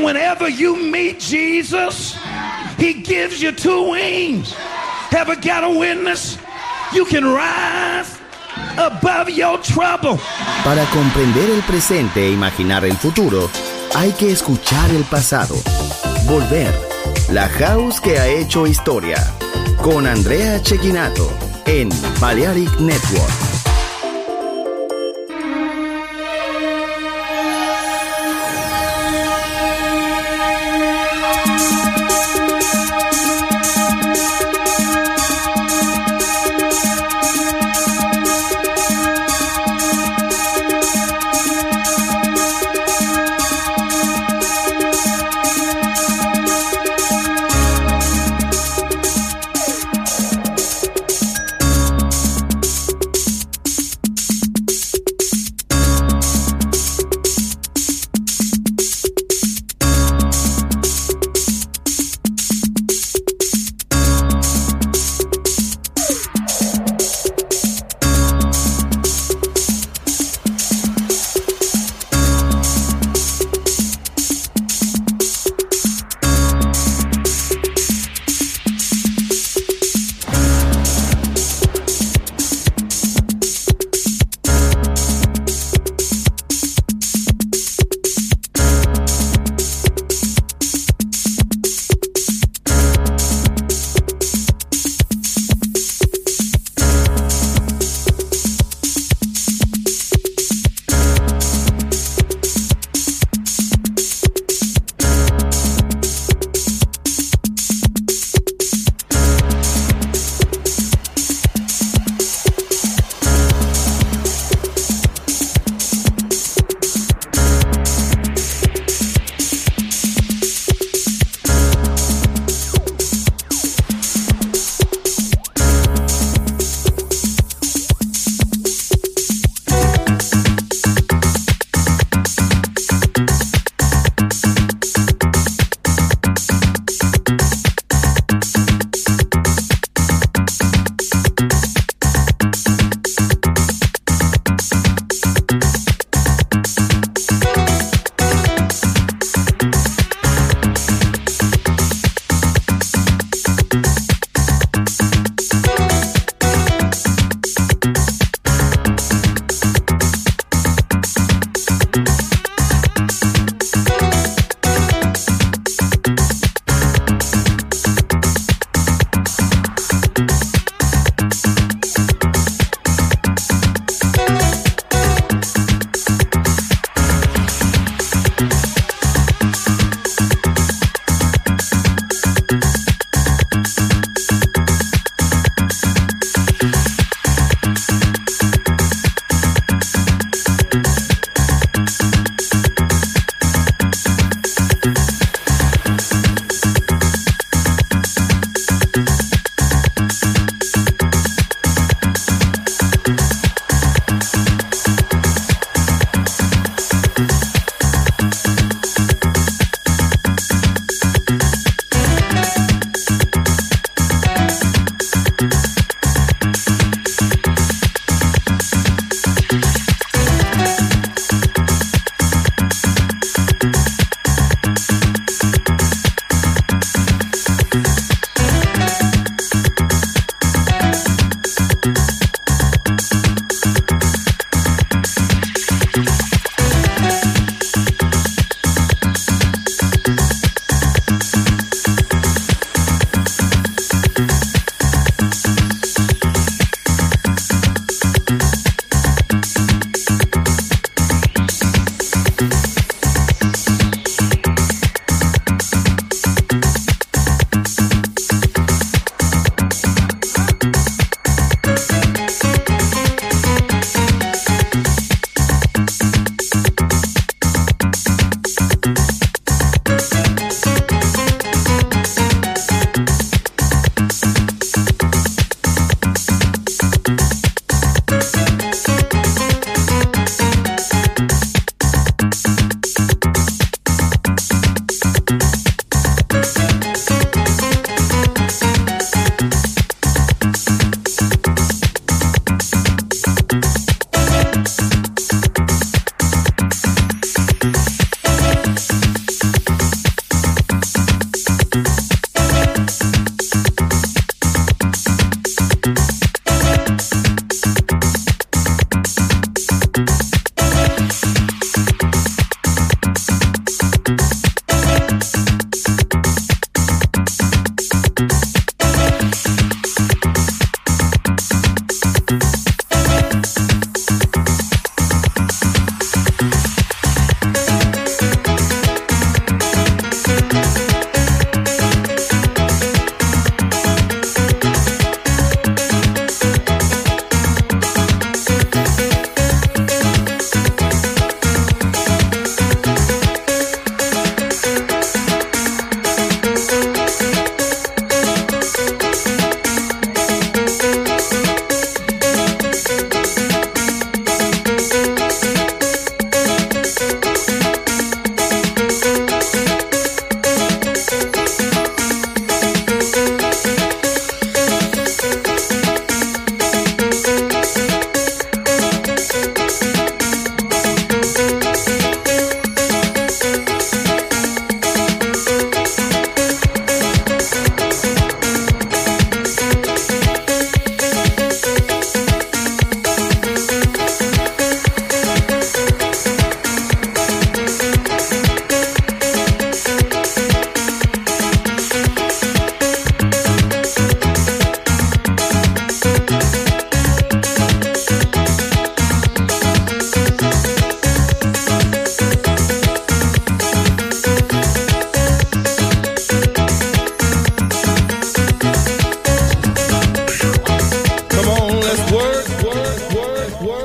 whenever you meet Jesus, he gives you two wings. Ever got a witness? You can rise above your trouble. Para comprender el presente e imaginar el futuro, hay que escuchar el pasado. Volver. La House que ha hecho historia. Con Andrea Cecchinato en Balearic Network.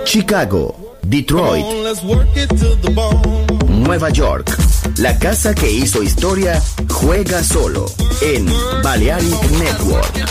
Chicago, Detroit, Nueva York. La casa que hizo historia juega solo en Balearic Network.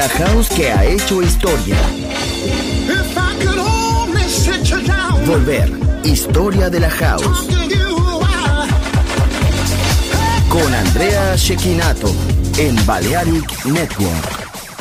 La house que ha hecho historia. Volver, historia de la house. Con Andrea Cecchinato en Balearic Network.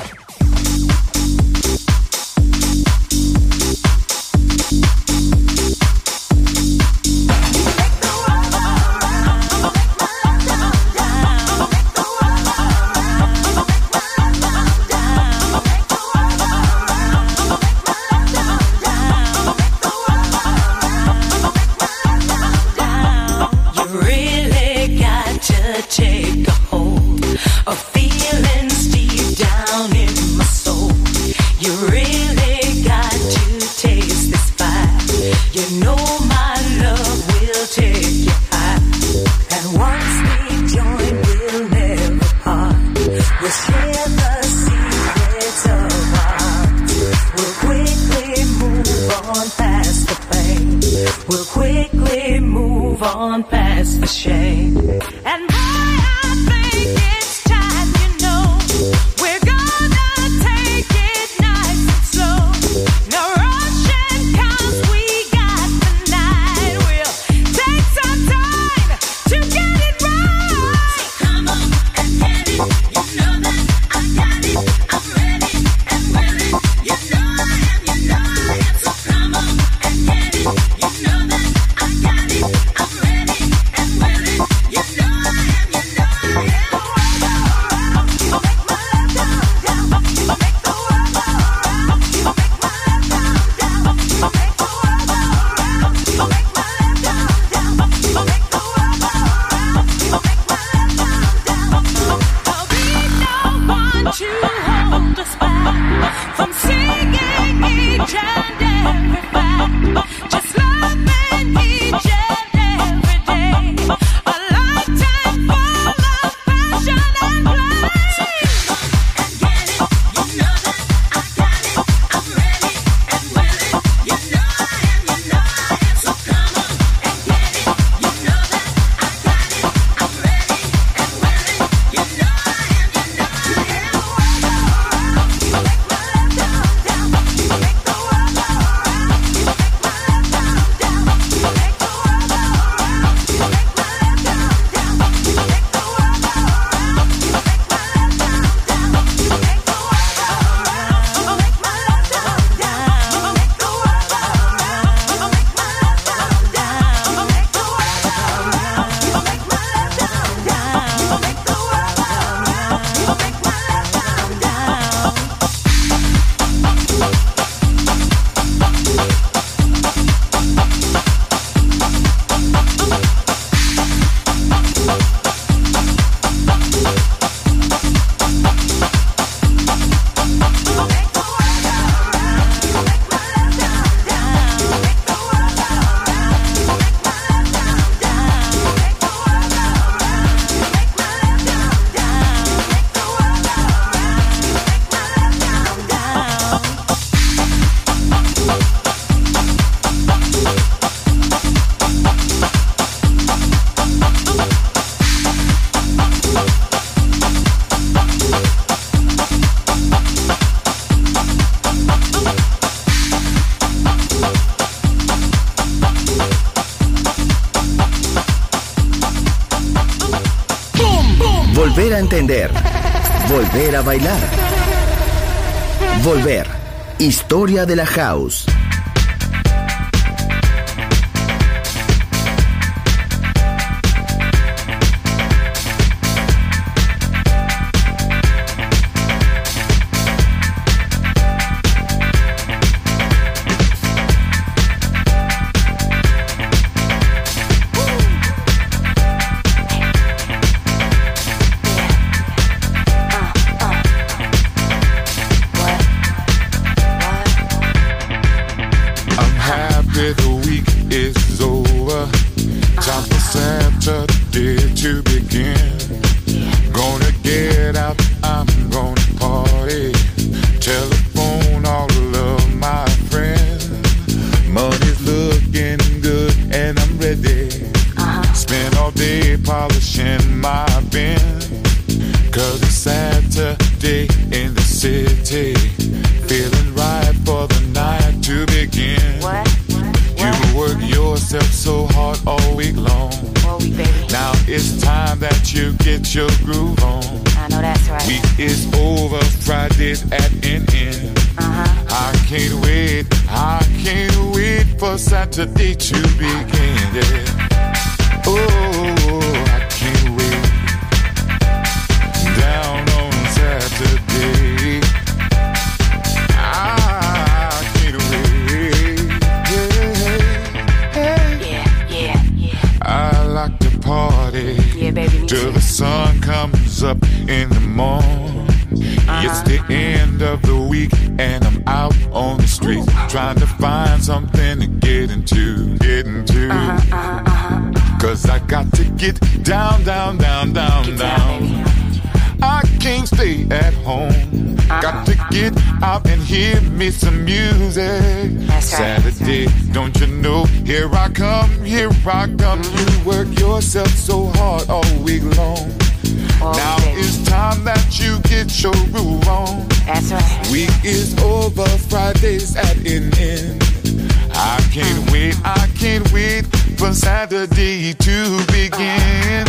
Volver a entender. Volver a bailar. Volver. Historia de la house. Polishing my bin, 'cause it's Saturday in the city. yourself so hard all week long. All week, baby. Now it's time that you get your groove on. I know that's right. Week is over, Friday's at an end. I can't wait for Saturday to begin, yeah. Oh, I can't wait. Down on Saturday, I can't wait. Yeah. I like to party, yeah, baby, till the sun comes up in the morning. It's the end of the week and I'm out on the street trying to find something to get into. Cause I got to get down. I can't stay at home. Got to get out and hear me some music. That's right. Saturday, don't you know? Here I come. You work yourself so hard all week long. Now it's time that you get your groove on. That's right. Week is over, Friday's at an end. I can't wait for Saturday to begin.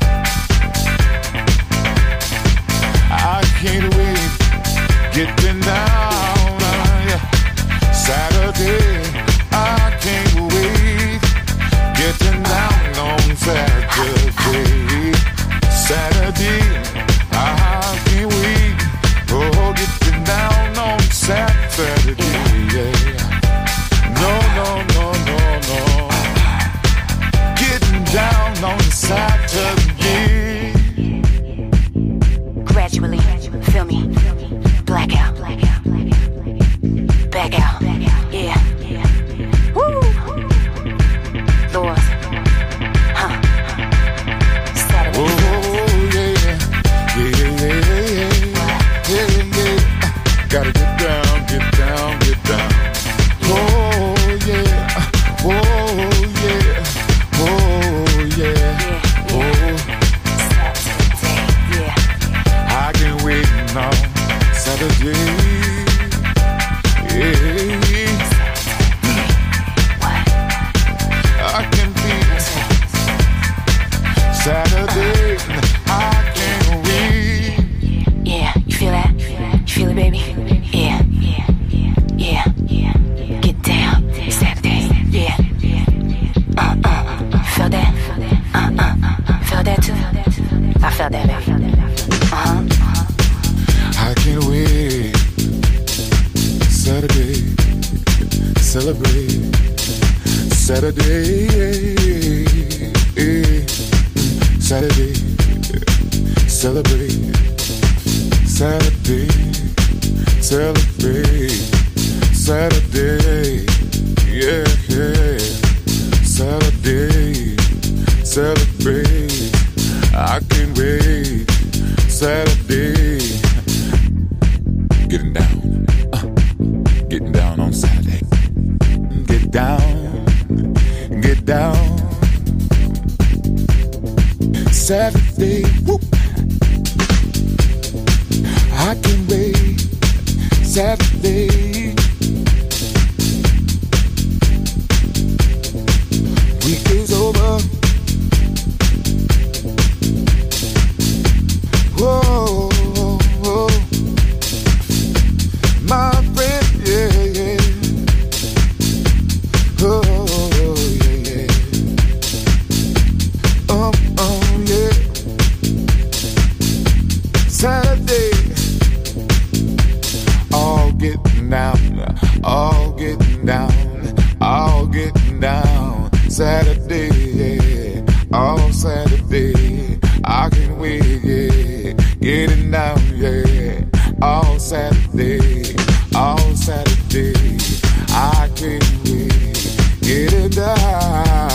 I can't wait, getting down, Saturday. I can't wait, getting down on Saturday. Saturday, I can't wait. Oh, getting down on Saturday, yeah. No. Getting down on Saturday. Gradually, feel me, blackout, back out, yeah. Woo! Lord, Saturday. Oh, yeah. Gotta get down. Oh, yeah. Saturday, I can wait now, Saturday. I can be Saturday. I can't wait. Yeah, you feel that? You feel it, baby? Yeah. Get down, Saturday. Yeah. Feel that? Feel that too? I felt that, baby. I can't wait. Saturday, celebrate. Saturday, Saturday, celebrate. Saturday, celebrate. Saturday, yeah. Saturday, celebrate. I can't wait. Saturday, getting down on Saturday. Get down. Saturday, whoop. I can wait. Saturday. Week is over. Whoa. My friend, yeah. Oh, yeah. Yeah. Saturday, all getting down. Saturday, yeah. All Saturday, I can wait, yeah. Getting down, yeah. All Saturday, I can't wait. Getting down.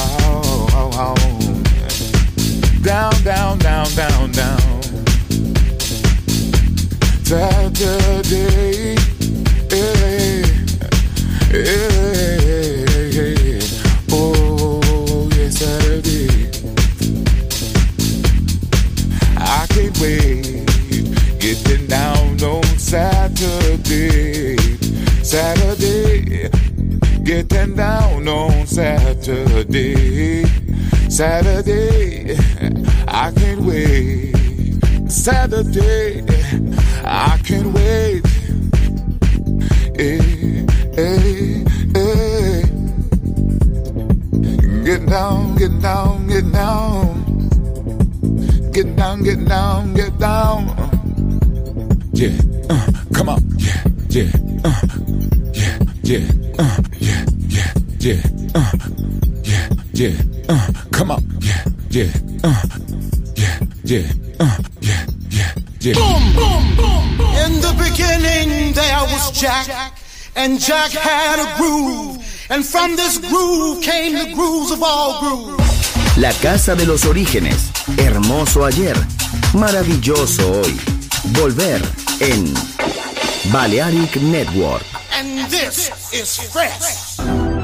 Saturday, oh yeah, Saturday. I can't wait. Getting down on Saturday, getting down on Saturday. Saturday, Saturday, I can't wait. Saturday, I can't wait. Hey, hey, hey. Get down, get down, get down. Get down, get down, get down. Yeah, come on. Yeah, yeah, yeah, yeah, yeah, yeah, yeah, yeah, yeah, come on. Yeah, yeah, yeah, yeah, yeah, yeah, yeah. Boom, boom, boom, boom. In the beginning there was Jack, and Jack had a groove, and from this groove came the grooves of all grooves. La casa de los orígenes, hermoso ayer, maravilloso hoy. Volver en Balearic Network. And this is fresh.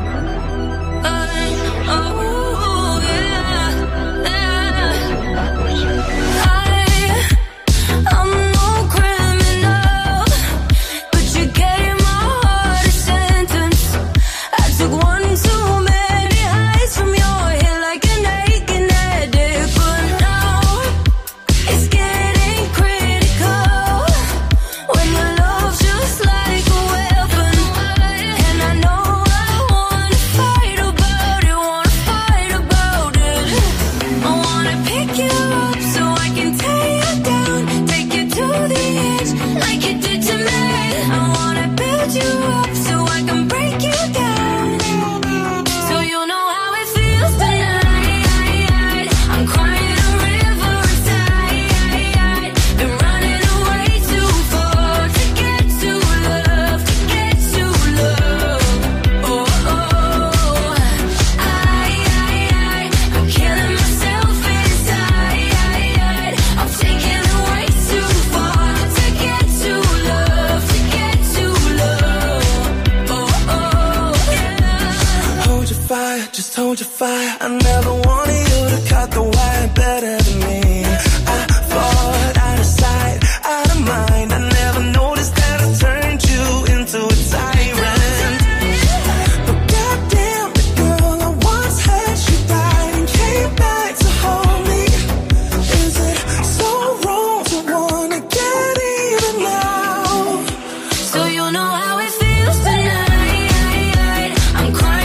Hold your fire. I never wanted you to cut the wire better than me. I fought out of sight, out of mind. I never noticed that I turned you into a tyrant. But goddamn, the girl I once had, she died and came back to hold me. Is it so wrong to wanna get even now? So you know how it feels tonight. I'm crying.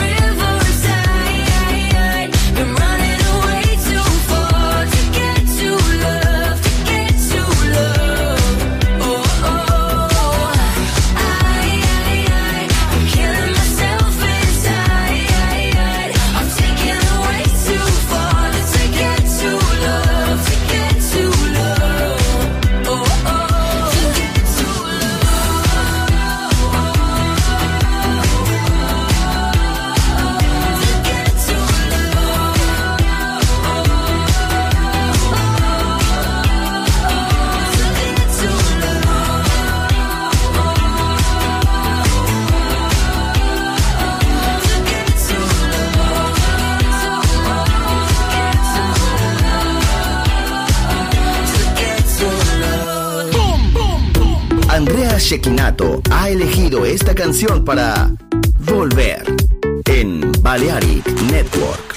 Andrea Cecchinato ha elegido esta canción para Volver en Balearic Network.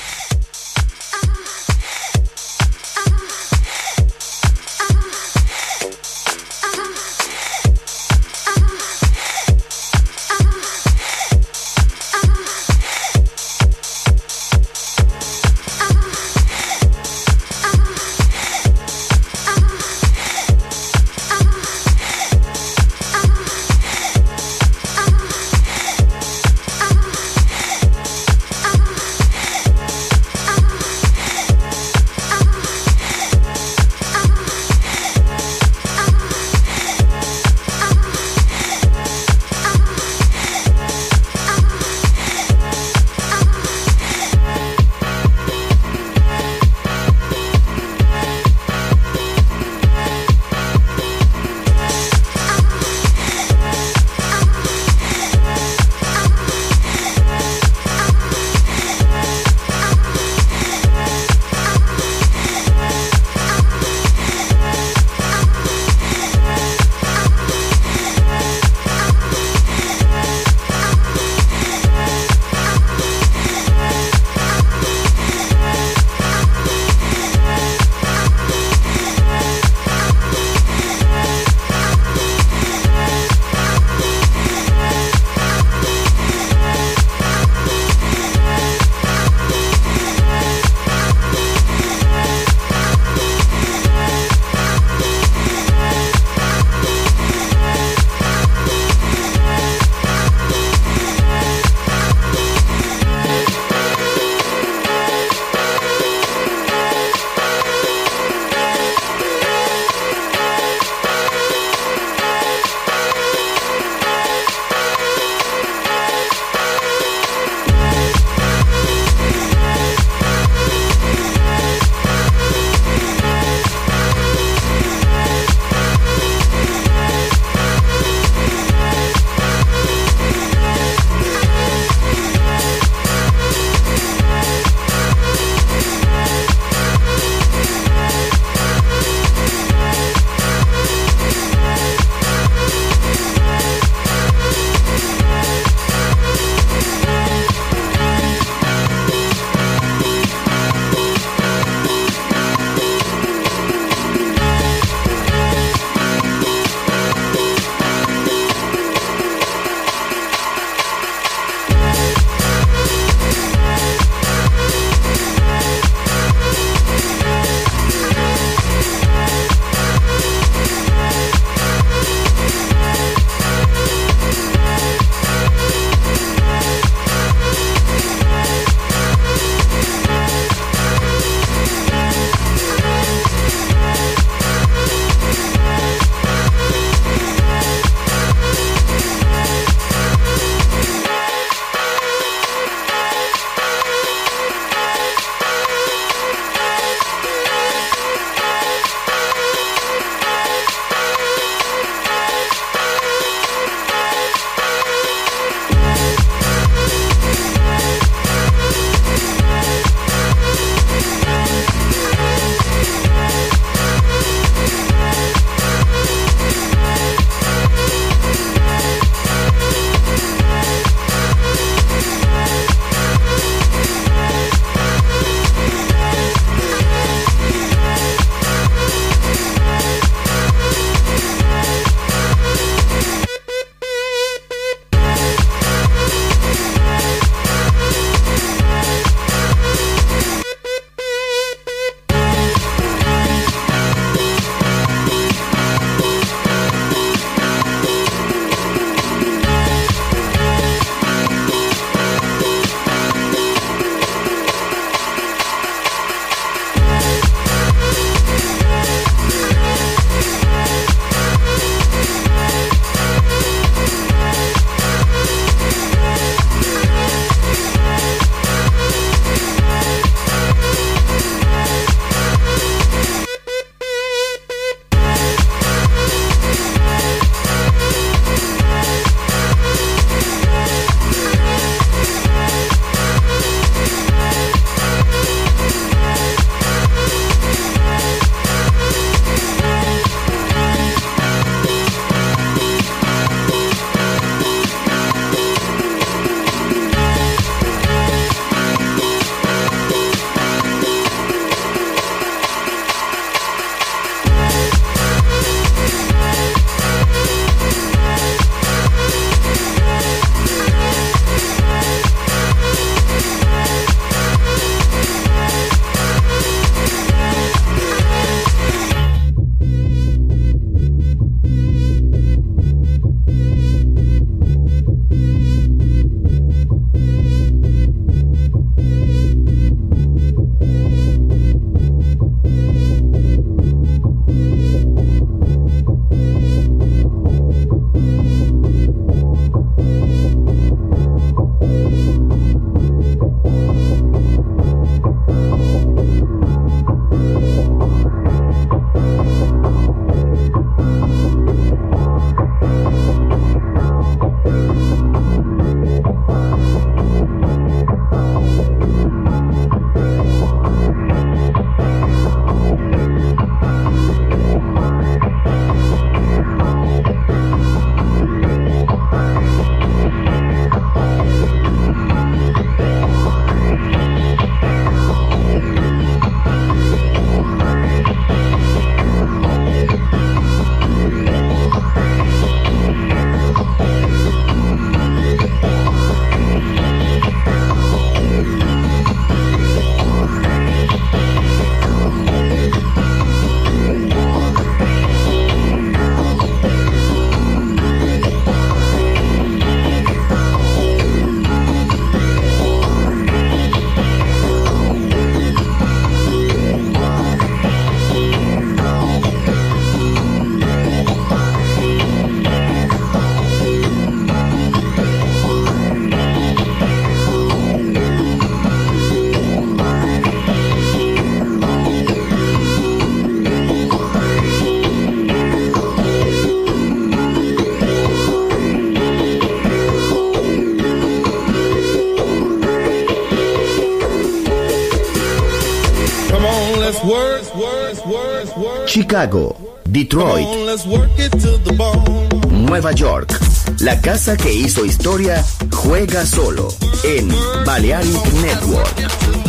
Come on, let's work. Chicago, Detroit, Come on, let's work it to the bone. Nueva York. La casa que hizo historia juega solo en Balearic Network.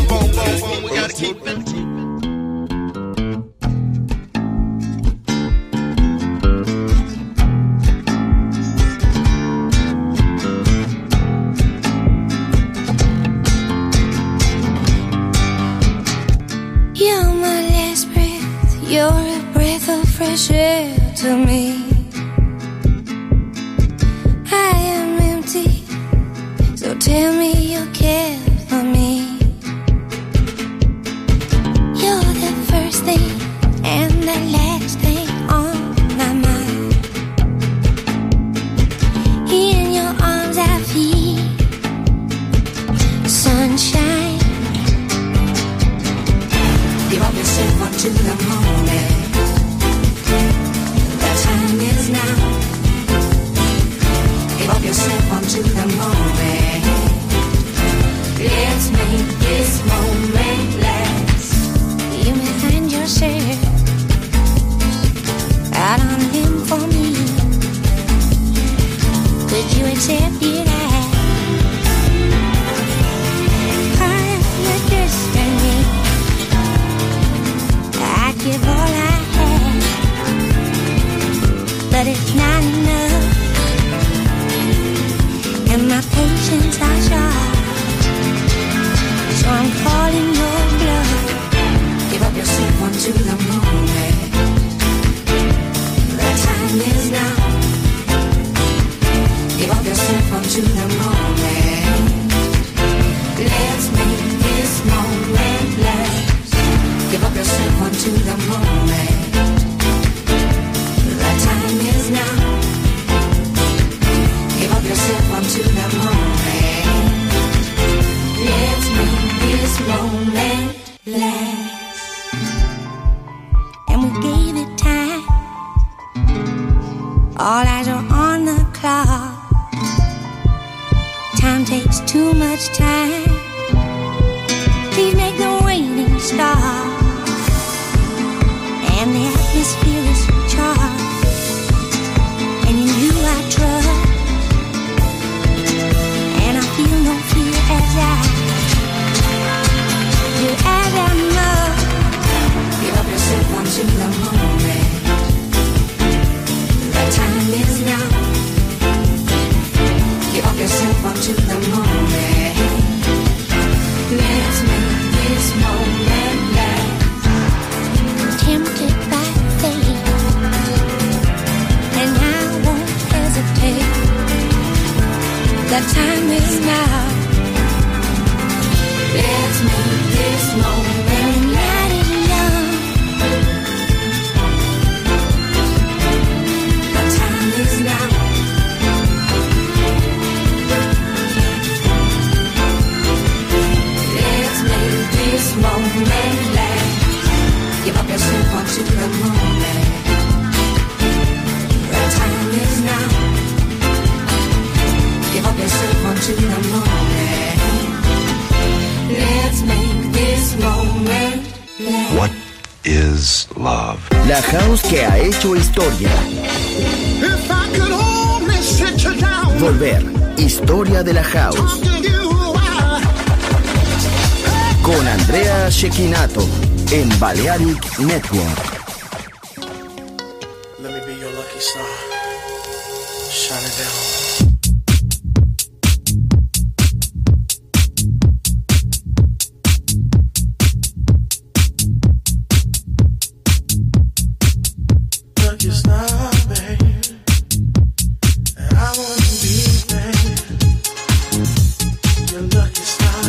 You're my last breath, you're a breath of fresh air to me. I am empty, so tell me you care for me. You're the first thing and the last thing on my mind. In your arms I feel sunshine. Give up yourself unto the moment. The time is now. Give up yourself unto the moment. Let's make this moment last. You may find yourself out on a limb for me. Could you accept it as part of your destiny? I'd give all I have, but it's not enough, and my patience are short, so I'm calling your bluff. Give up yourself unto the moment. The time is now. Give up yourself unto the moment. Let's make this moment last. Give up yourself unto the moment. The time is now. Give up yourself unto the moment. Let's make this moment last. And we gave it time. All eyes are on the clock. Time takes too much time. Please make the waiting stop. And the atmosphere is charged. And in you I trust. And I feel no fear as I do as I must. Give up yourself unto the moment. The time is now. Give up yourself unto the moment. Let's make this moment last. Tempted by fate, and I won't hesitate. The time is now. Let's make this moment And night is young. The time is now. Let's make this moment last. Give up yourself unto the moment. The time is now. Give up yourself unto the moment. Let's make this moment last. What is love? La house que ha hecho historia. If I could only sit you down, Volver. Historia de la house. talk to you, Con Andrea Cecchinato en Balearic Network. Let me be your lucky star. Shine it down. Lucky star, babe. I wanna be, babe, your lucky star.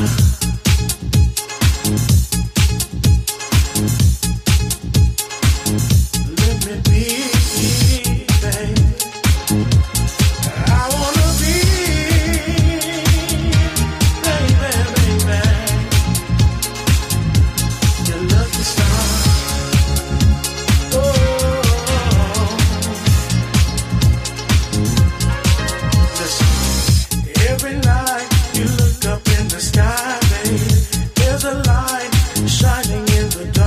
Let me be, babe. I wanna be, baby, your lucky star. Oh, listen. Every night you look up in the sky, babe. There's a light shining in the dark.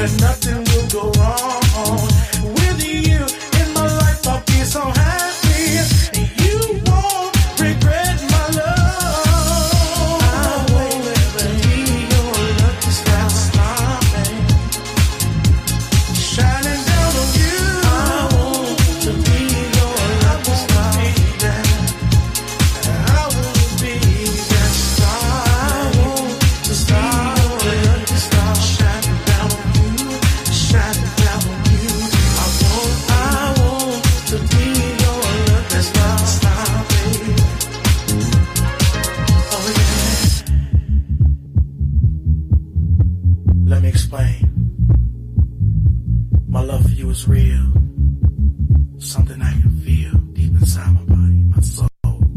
that nothing will go wrong. With you in my life, I'll be so happy, and you won't regret my love. I won't ever be your lucky star, baby, shining down on you. I want to be your lucky star, baby. I want to be that star. I want to be your lucky star, shining down on you, shining down on you. I want to be your lucky star, baby. Oh yeah. Let me explain. My love for you is real. Something I can feel deep inside my body, my soul.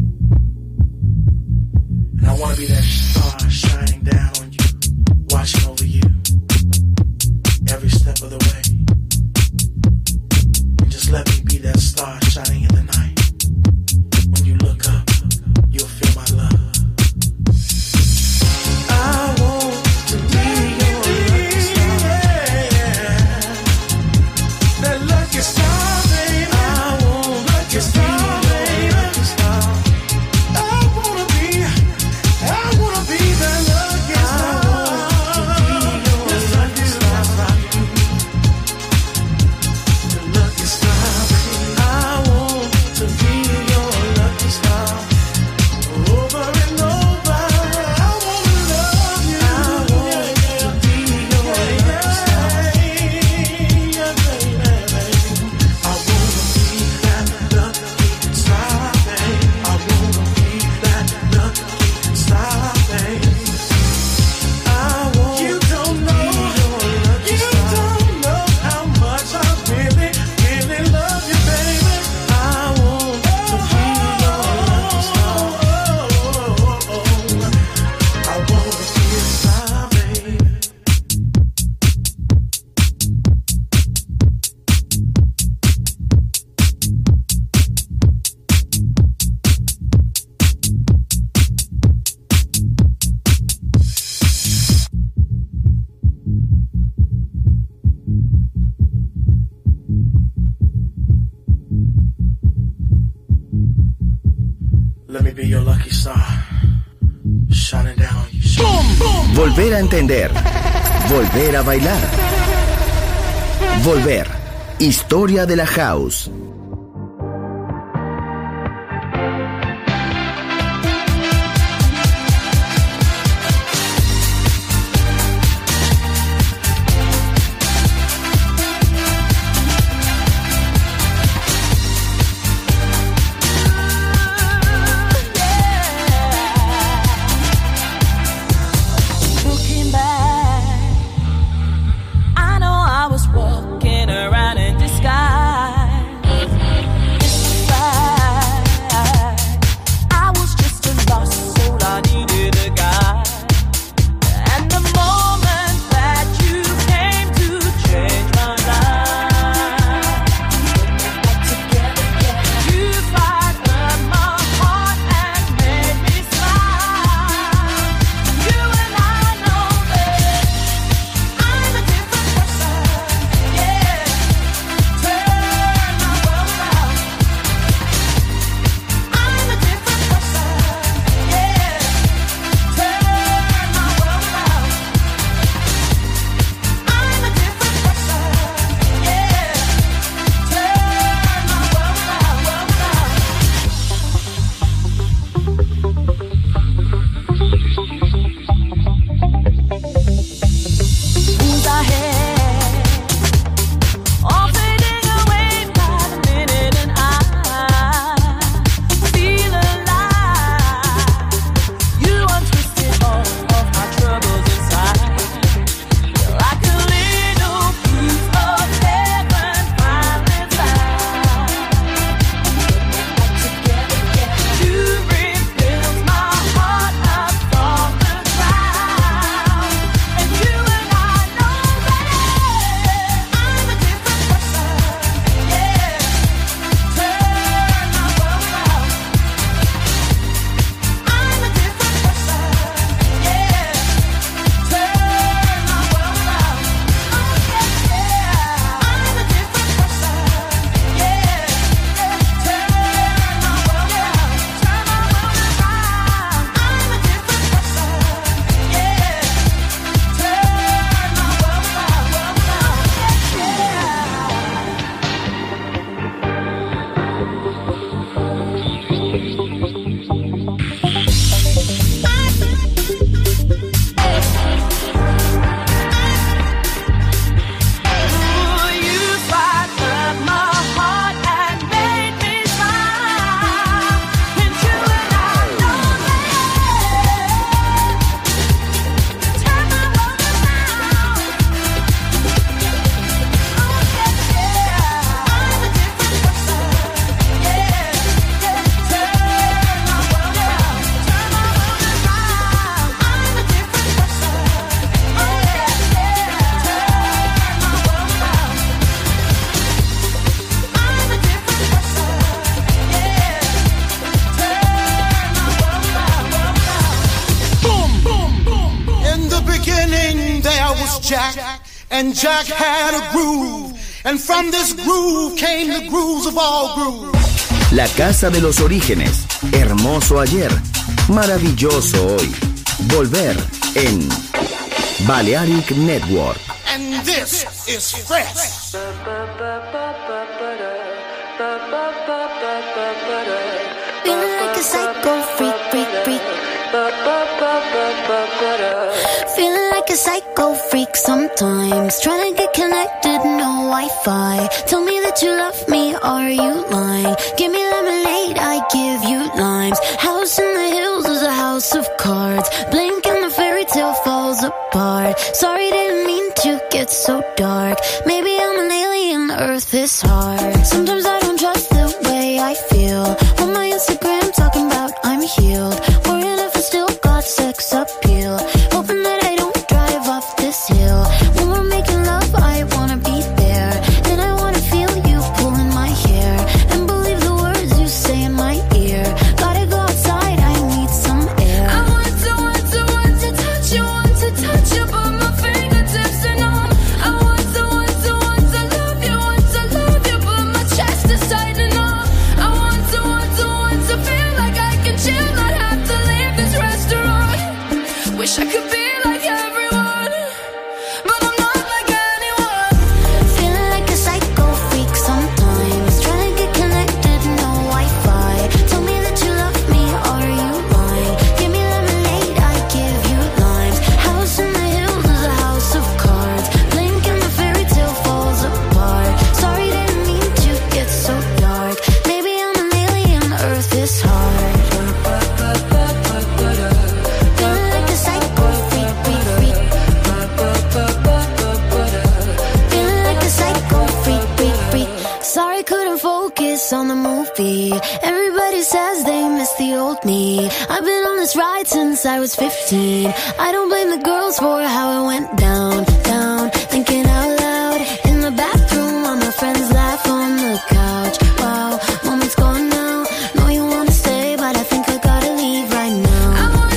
And I want to be that star shining down on you, watching over you every step of the way. And just let me be that star shining in the night. When you look up, you'll feel my love. I want to be your lucky star, that lucky star, baby. I want lucky star, baby. Lucky star. I wanna be that lucky star. Lucky star, the lucky star, baby. I want to be your lucky star. Over and over, I wanna love you. I want to be your lucky star. Yeah, baby. I wanna be that lucky star, baby. I wanna be that lucky star, baby. I want you don't know, you don't know how much I really, really love you, baby. I want to be your lucky star. I want to be a star, baby. Let me be your lucky star, shining down on you. Volver a entender. Volver a bailar. Volver. Historia de la house. Looking back, I know I was walking around in disguise. and Jack had a groove, and from this groove came the grooves of all grooves. La casa de los orígenes, hermoso ayer, maravilloso hoy. Volver en Balearic Network. And this is fresh. Feeling like a psycho freak, freak, freak. Feeling like a psycho freak sometimes. Trying to get connected, no Wi-Fi. Tell me that you love me, are you lying? Give me lemonade, I give you limes. House in the hills is a house of cards. Blink and the fairy tale falls apart. Sorry, didn't mean to get so dark. Maybe I'm an alien, Earth is hard. Sometimes I don't trust the way I feel. On my Instagram talking about I'm healed. Worrying if I still got sex appeal. Hoping that I don't drive off this hill. When we're making love, I wanna be there. And I wanna feel you pulling my hair. And believe the words you say in my ear. Gotta go outside, I need some air. I want to touch you, but my fingertips are numb. I want to love you, but my chest is tightening up. I want to feel like I can chill, not have to leave this restaurant. Wish I could be like everyone, but I'm not like anyone. Feeling like a psycho freak sometimes. Trying to get connected, no Wi-Fi. Tell me that you love me, are you lying? Give me lemonade, I give you limes. House in the hills is a house of cards. Blink and the fairy tale falls apart. Sorry, didn't mean to get so dark. Maybe I'm an alien, Earth is hard. Feeling like a psycho freak, freak, freak. Feeling like a psycho freak, freak, freak. Sorry, couldn't focus on the movie. Everybody says they miss the old me. I've been on this ride since I was 15. I don't blame the girls for how it went down, down. Thinking out loud in the bathroom while my friends laugh on the couch. Wow, moment's gone now. Know you wanna stay, but I think I gotta leave right now. I want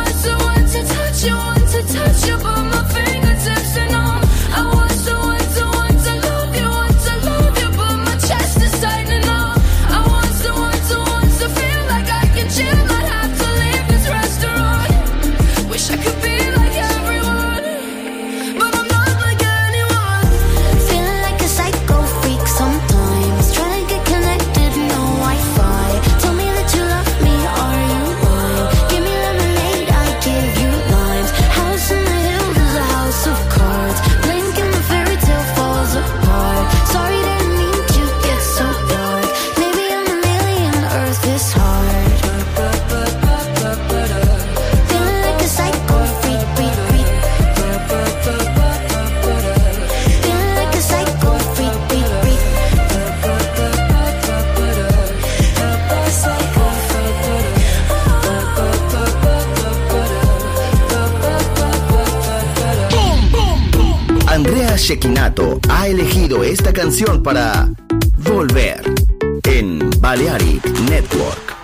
to touch you, but my fingertips are numb. I want to love you, but my chest is tightening up. I want to feel like I can chill, not have to leave this restaurant. Wish I could be like everyone, but I'm not like anyone. Feeling like a psycho freak sometimes. Trying to get connected, no Wi-Fi. Tell me that you love me, are you lying? Give me lemonade, I give you limes. House in the hills is a house of cards. Blink and the fairy tale falls apart. Sorry, didn't mean to get so dark. Maybe I'm an alien, Earth is hard. Feeling like a psycho freak, freak, freak. Feeling like a psycho freak, freak, freak. Andrea Cecchinato ha elegido esta canción para Volver en Balearic Network.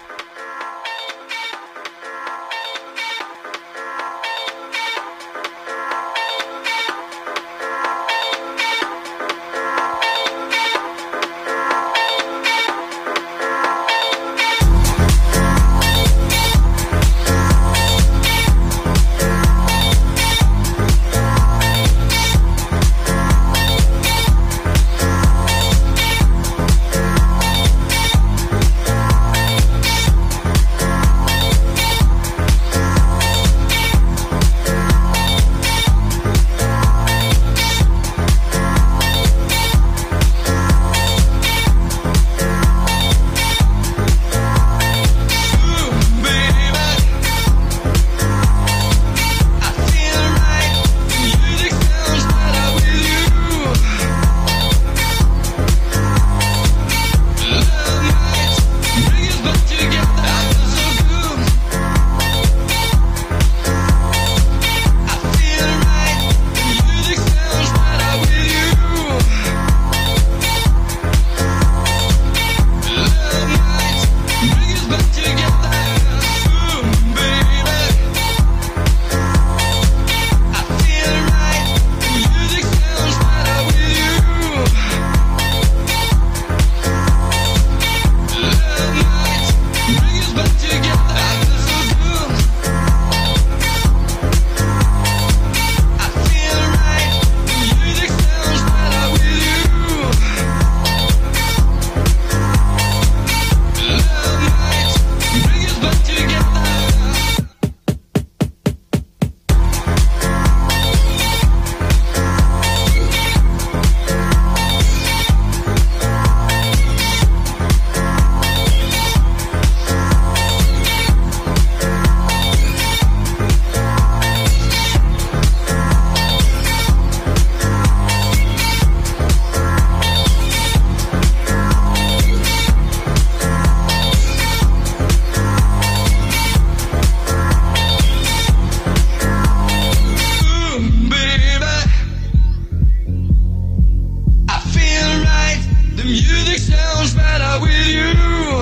sounds better with you.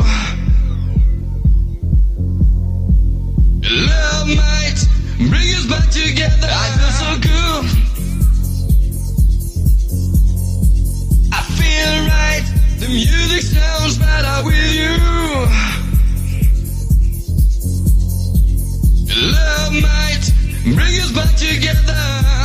Love might bring us back together. I feel so good. I feel right. The music sounds better with you. Love might bring us back together.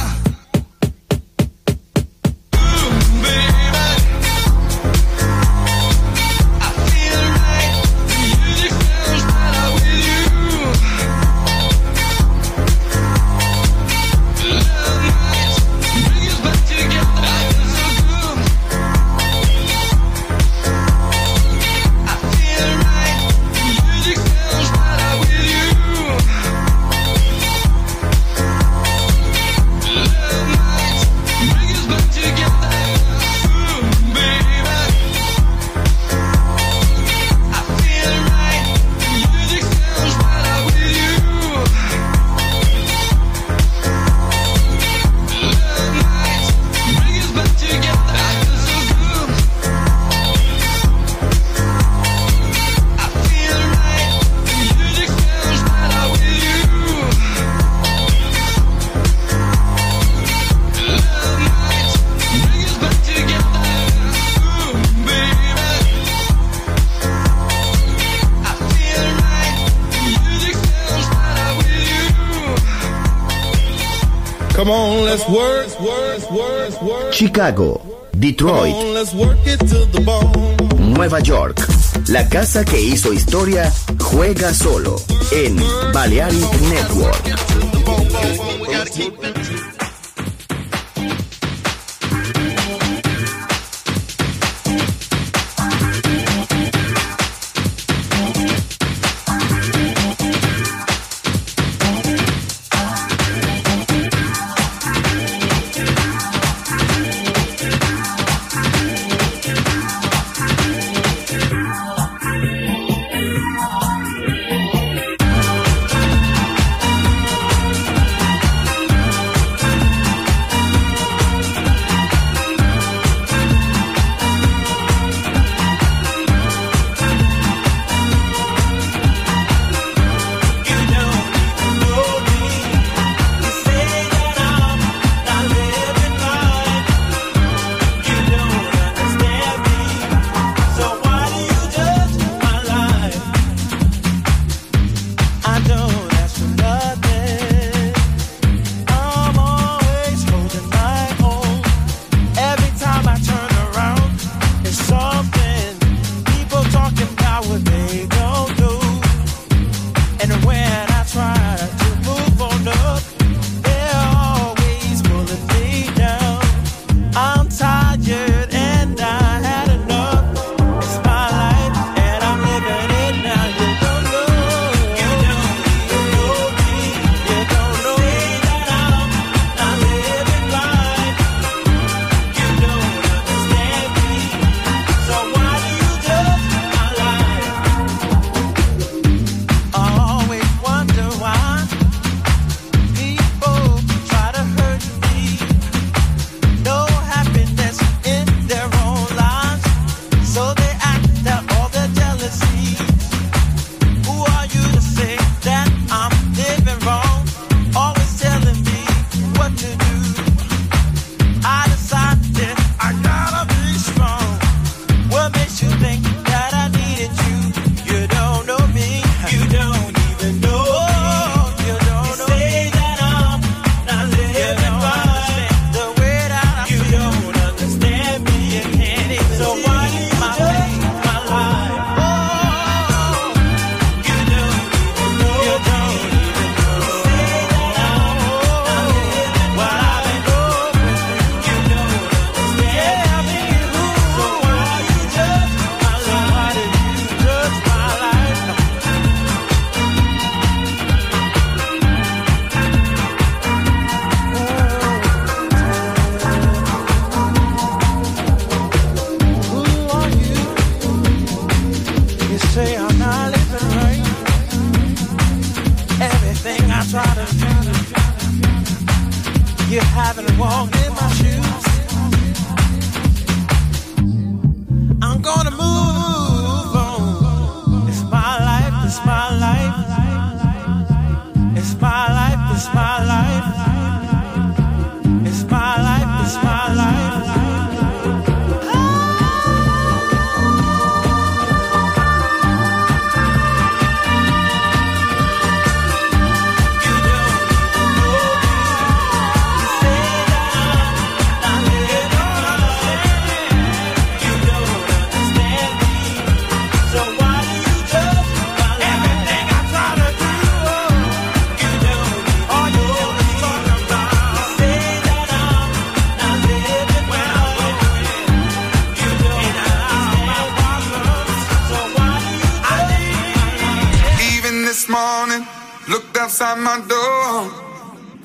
Come on, let's work. Chicago, Detroit, Come on, let's work it to the bone. Nueva York. La casa que hizo historia juega solo en Balearic Network. Happiness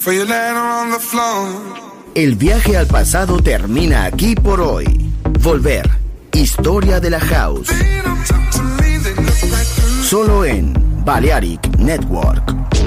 before you land on the floor. El viaje al pasado termina aquí por hoy. Volver. Historia de la House. Solo en Balearic Network.